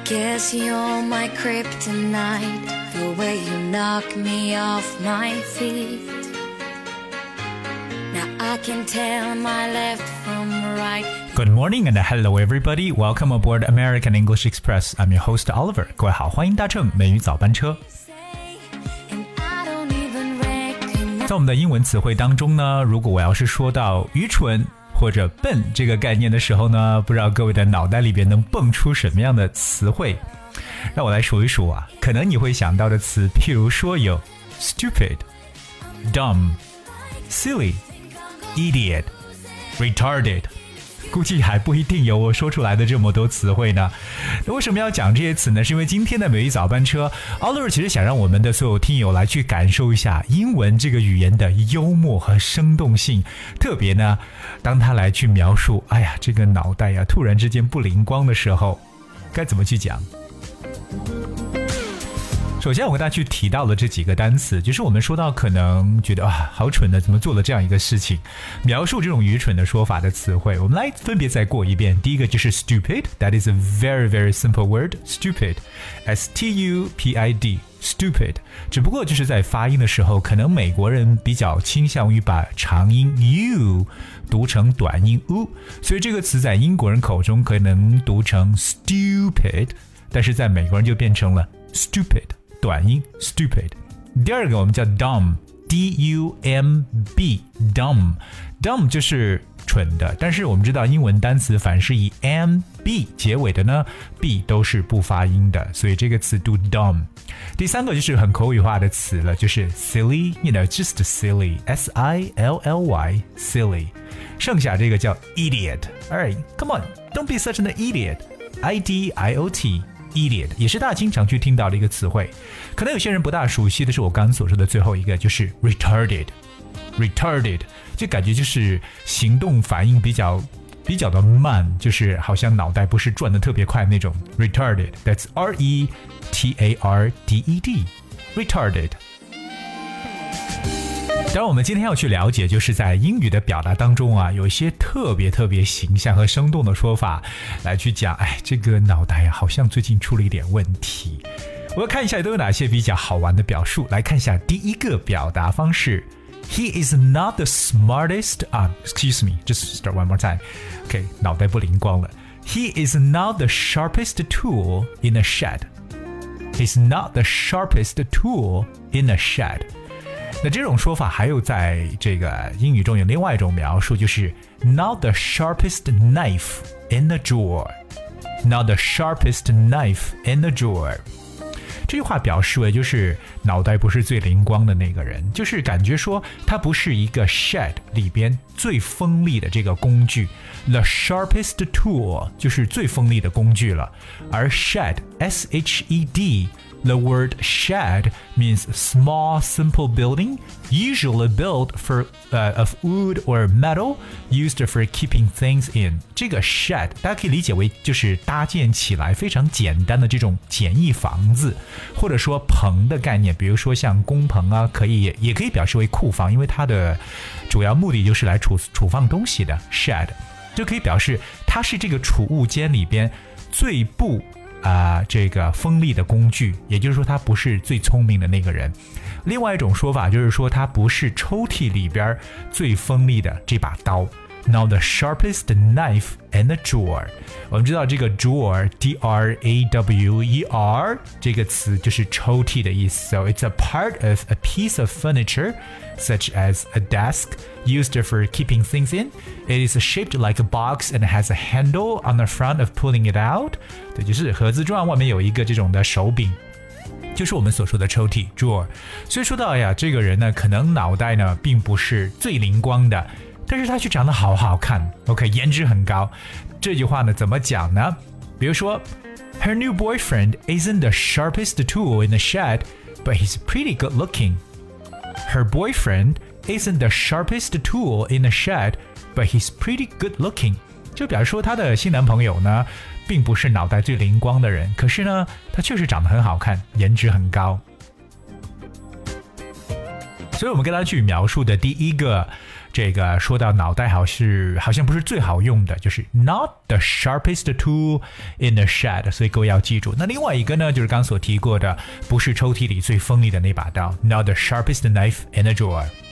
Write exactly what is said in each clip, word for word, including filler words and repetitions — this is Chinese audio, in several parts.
Guess you're my kryptonite, the way you knock me off my feet. Now I can tell my left from right. Good morning and hello everybody. Welcome aboard American English Express. I'm your host Oliver. 各位好，欢迎搭乘美语早班车。在我们的英文词汇当中呢，如果我要是说到愚蠢或者笨这个概念的时候呢，不知道各位的脑袋里边能蹦出什么样的词汇？让我来数一数啊，可能你会想到的词，譬如说有 stupid、dumb、silly、idiot、retarded， 估计还不一定有我说出来的这么多词汇呢。为什么要讲这些词呢？是因为今天的美语早班车 Oliver 其实想让我们的所有听友来去感受一下英文这个语言的幽默和生动性，特别呢当他来去描述哎呀这个脑袋呀突然之间不灵光的时候该怎么去讲。首先我跟大家去提到了这几个单词，就是我们说到可能觉得啊好蠢的怎么做了这样一个事情，描述这种愚蠢的说法的词汇，我们来分别再过一遍。第一个就是 stupid, that is a very very simple word, stupid, S T U P I D, stupid， 只不过就是在发音的时候，可能美国人比较倾向于把长音 u 读成短音 u， 所以这个词在英国人口中可能读成 stupid， 但是在美国人就变成了 stupid，短音 stupid。 第二个我们叫 dumb, D U M B, dumb, dumb 就是蠢的，但是我们知道英文单词凡是以 M B 结尾的呢 B 都是不发音的，所以这个词读 dumb。 第三个就是很口语化的词了，就是 silly, you know, just silly, S I L L Y, silly。 剩下这个叫 idiot, alright, come on, don't be such an idiot, I D I O T idiot 也是大家经常去听到的一个词汇，可能有些人不大熟悉的是我刚刚所说的最后一个，就是 retarded retarded 就感觉就是行动反应比较比较的慢，就是好像脑袋不是转得特别快那种 retarded, that's R E T A R D E D retarded。当然我们今天要去了解，就是在英语的表达当中啊，有一些特别特别形象和生动的说法来去讲，哎，这个脑袋好像最近出了一点问题。我要看一下都有哪些比较好玩的表述，来看一下第一个表达方式， He is not the smartest、uh, excuse me, just start one more time. OK, 脑袋不灵光了。 He is not the sharpest tool in a shed. He's not the sharpest tool in a shed.那这种说法还有在这个英语中有另外一种描述，就是 not the sharpest knife in the drawer, not the sharpest knife in the drawer。 这句话表示为就是脑袋不是最灵光的那个人，就是感觉说他不是一个 shed 里边最锋利的这个工具， the sharpest tool 就是最锋利的工具了，而 shed, S H E D The word shed means small, simple building, usually built for, uh, of wood or metal, used for keeping things in. 这个 shed 大家可以理解为就是搭建起来非常简单的这种简易房子，或者说棚的概念，比如说像工棚啊，可以也可以表示为库房，因为它的主要目的就是来储储放东西的 shed， 就可以表示它是这个储物间里边最不啊、呃，这个锋利的工具，也就是说他不是最聪明的那个人。另外一种说法就是说他不是抽屉里边最锋利的这把刀。Not the sharpest knife in the drawer。 我们知道这个 drawer, D R A W E R 这个词就是抽屉的意思。So it's a part of a piece of furniture, such as a desk, used for keeping things in. It is shaped like a box and has a handle on the front of pulling it out. 对，就是盒子状，外面有一个这种的手柄，就是我们所说的抽屉 drawer。 所以说到哎呀，这个人呢可能脑袋呢并不是最灵光的，但是他却长得好好看 OK, 颜值很高。这句话呢怎么讲呢？比如说 Her new boyfriend isn't the sharpest tool in the shed, but he's pretty good looking. Her boyfriend isn't the sharpest tool in the shed, but he's pretty good looking. 就表示说她的新男朋友呢并不是脑袋最灵光的人，可是呢他确实长得很好看，颜值很高。 所以我们跟他去描述的第一个，这个说到脑袋好是好像不是最好用的，就是 not the sharpest tool in the shed， 所以各位要记住。那另外一个呢，就是刚刚所提过的，不是抽屉里最锋利的那把刀 ，not the sharpest knife in the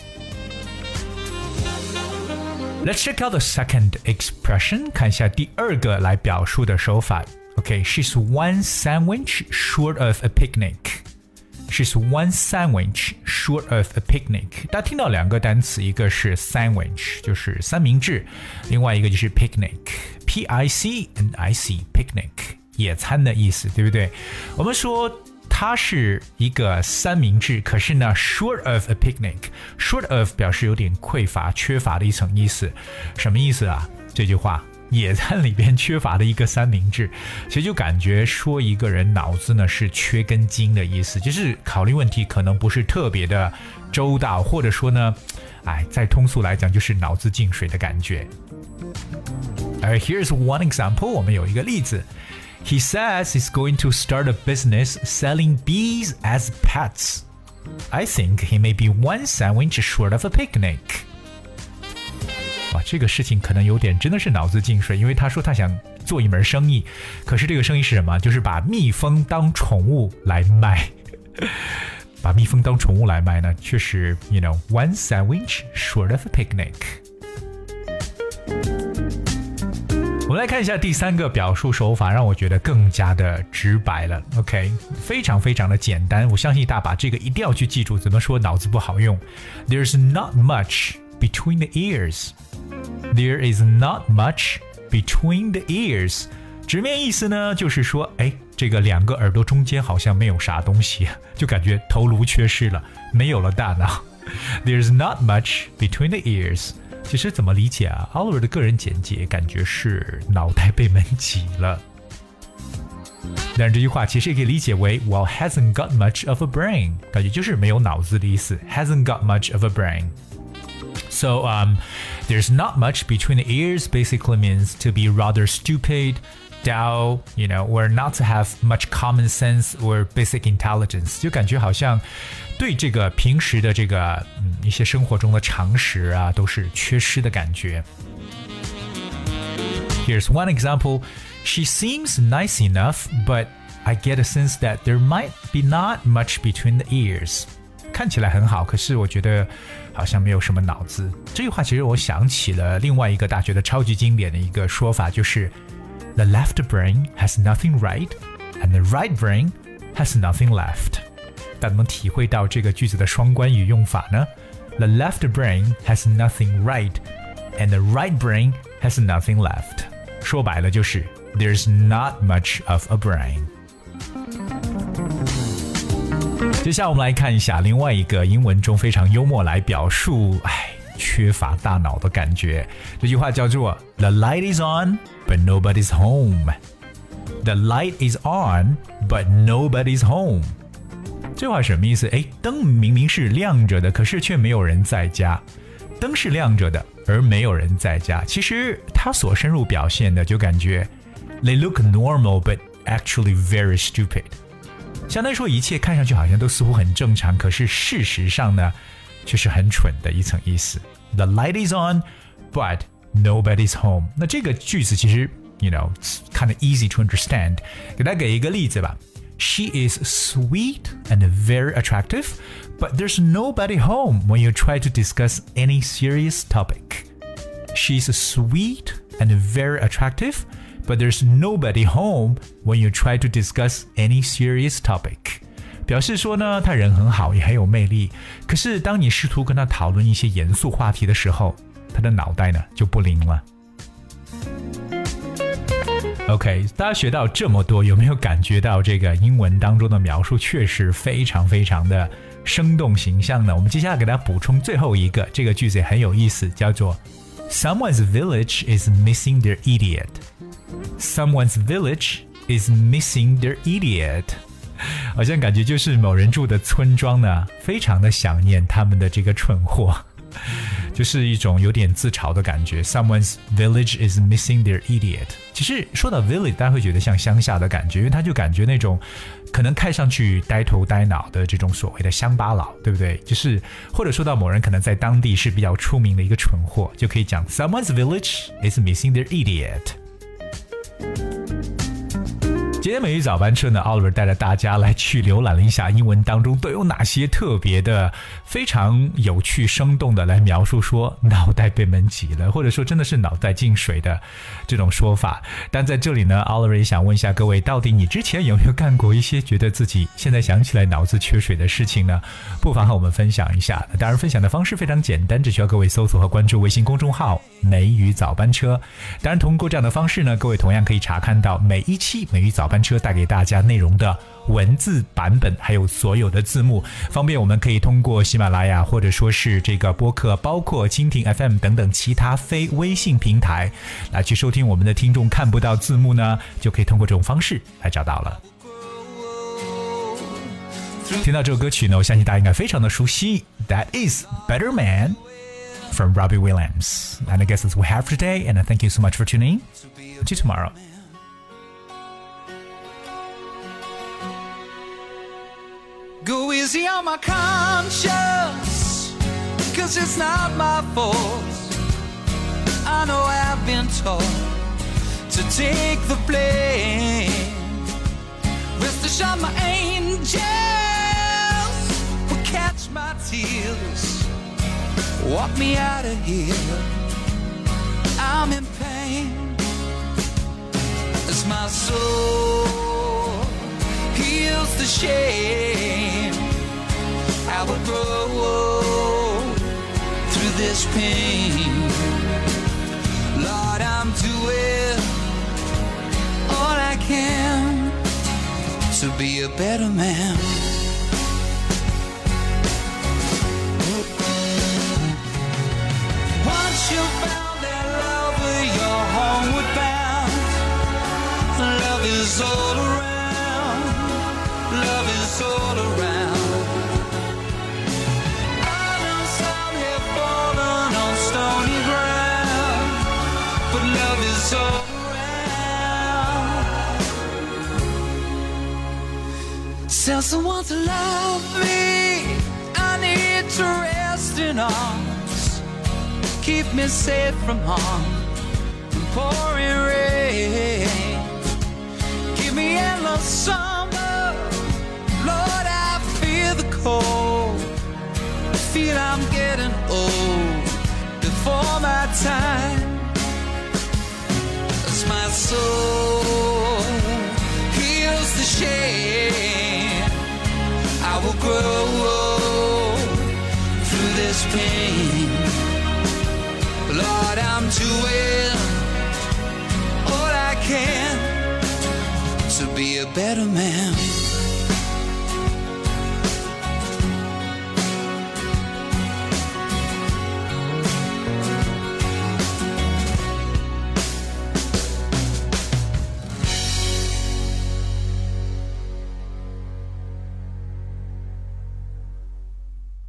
drawer。Let's check out the second expression， 看一下第二个来表述的手法。Okay, she's one sandwich short of a picnic.She's one sandwich short of a picnic. 大家听到两个单词，一个是 sandwich， 就是三明治，另外一个就是 picnic， P I C N I C picnic， 野餐的意思，对不对？我们说它是一个三明治，可是呢 short of a picnic， short of 表示有点匮乏、缺乏的一层意思。什么意思啊？这句话野餐里边缺乏的一个三明治，所以就感觉说一个人脑子呢是缺根筋的意思，就是考虑问题可能不是特别的周到，或者说呢，哎，再通俗来讲就是脑子进水的感觉。而 here's one example， 我们有一个例子。He says he's going to start a business selling bees as pets. I think he may be one sandwich short of a picnic.哇，这个事情可能有点真的是脑子进水，因为他说他想做一门生意，可是这个生意是什么？就是把蜜蜂当宠物来卖。把蜜蜂当宠物来卖呢，确实 you know one sandwich short of a picnic。 我们来看一下第三个表述手法，让我觉得更加的直白了。 OK， 非常非常的简单，我相信大把这个一定要去记住，怎么说脑子不好用。 There's not much between the ears。There is not much between the ears。 直面意思呢，就是说，哎，这个两个耳朵中间好像没有啥东西，就感觉头颅缺失了，没有了大脑。There's not much between the ears。 其实怎么理解啊？ Oliver 的个人简介感觉是脑袋被门挤了。但是这句话其实也可以理解为 Well, hasn't got much of a brain， 感觉就是没有脑子的意思。Hasn't got much of a brain。So, um, there's not much between the ears basically means to be rather stupid, dull, you know, or not to have much common sense or basic intelligence. 就感觉好像对这个平时的这个嗯一些生活中的常识啊都是缺失的感觉。Here's one example. She seems nice enough, but I get a sense that there might be not much between the ears.看起来很好，可是我觉得好像没有什么脑子。这句话其实我想起了另外一个大学的超级经典的一个说法，就是 The left brain has nothing right and the right brain has nothing left。 大家能体会到这个句子的双关语用法呢？ The left brain has nothing right and the right brain has nothing left。 说白了就是 There's not much of a brain。接下来我们来看一下另外一个英文中非常幽默来表述哎缺乏大脑的感觉。这句话叫做 The light is on, but nobody's home. The light is on, but nobody's home. 这话什么意思？哎，灯明明是亮着的，可是却没有人在家。灯是亮着的，而没有人在家。其实它所深入表现的就感觉 They look normal, but actually very stupid。相当于说一切看上去好像都似乎很正常，可是事实上呢却是很蠢的一层意思。 The light is on, but nobody's home。 那这个句子其实 you know kind of easy to understand。 给大家给一个例子吧。 She is sweet and very attractive, but there's nobody home when you try to discuss any serious topic. She's sweet and very attractive, but there's nobody home when you try to discuss any serious topic. 表示说呢，他人很好，也很有魅力，可是当你试图跟他讨论一些严肃话题的时候，他的脑袋呢就不灵了。OK， 大家学到这么多，有没有感觉到这个英文当中的描述确实非常非常的生动形象呢？我们接下来给大家补充最后一个，这个句子也很有意思，叫做 Someone's village is missing their idiot. Someone's village is missing their idiot. 好像感觉就是某人住的村庄呢，非常的想念他们的这个蠢货。 就是一种有点自嘲的感觉。Someone's village is missing their idiot。其实说到 village， 大家会觉得像乡下的感觉，因为他就感觉那种可能看上去呆头呆脑的这种所谓的乡巴佬，对不对？就是或者说到某人可能在当地是比较出名的一个蠢货，就可以讲 Someone's village is missing their idiot。今天美语早班车呢 Oliver 带着大家来去浏览了一下英文当中都有哪些特别的非常有趣生动的来描述说脑袋被闷挤了，或者说真的是脑袋进水的这种说法。但在这里呢 Oliver 也想问一下各位，到底你之前有没有干过一些觉得自己现在想起来脑子缺水的事情呢？不妨和我们分享一下。当然分享的方式非常简单，只需要各位搜索和关注微信公众号美语早班车。当然通过这样的方式呢，各位同样可以查看到每一期美语早班车带给大家内容的文字版本，还有所有的字幕，方便我们可以通过喜马拉雅或者说是这个播客，包括蜻蜓 F M 等等其他非微信平台来去收听。我们的听众看不到字幕呢，就可以通过这种方式来找到了。听到这首歌曲呢，我相信大家应该非常的熟悉 That is Better Man from Robbie Williams. And I guess that's what we have for today, and I thank you so much for tuning in. See you tomorrow. Go easy on my conscience, 'cause it's not my fault. I know I've been taught to take the blame. Rest assured my angels will catch my tears, walk me out of here. I'm in pain as my soul heals the shame. I will grow through this pain. Lord, I'm doing all I can to be a better man. Once you found that love, you're homeward bound. Love is all around. Love is all around. I know some have fallen on stony ground, but love is all around. Tell someone to love me. I need to rest in arms. Keep me safe from harm and pouring rain. Give me endless summer. Lord, I feel the cold. I feel I'm getting old before my time. As my soul heals the shame, I will grow through this pain. Lord, I'm doing all I can to be a better man.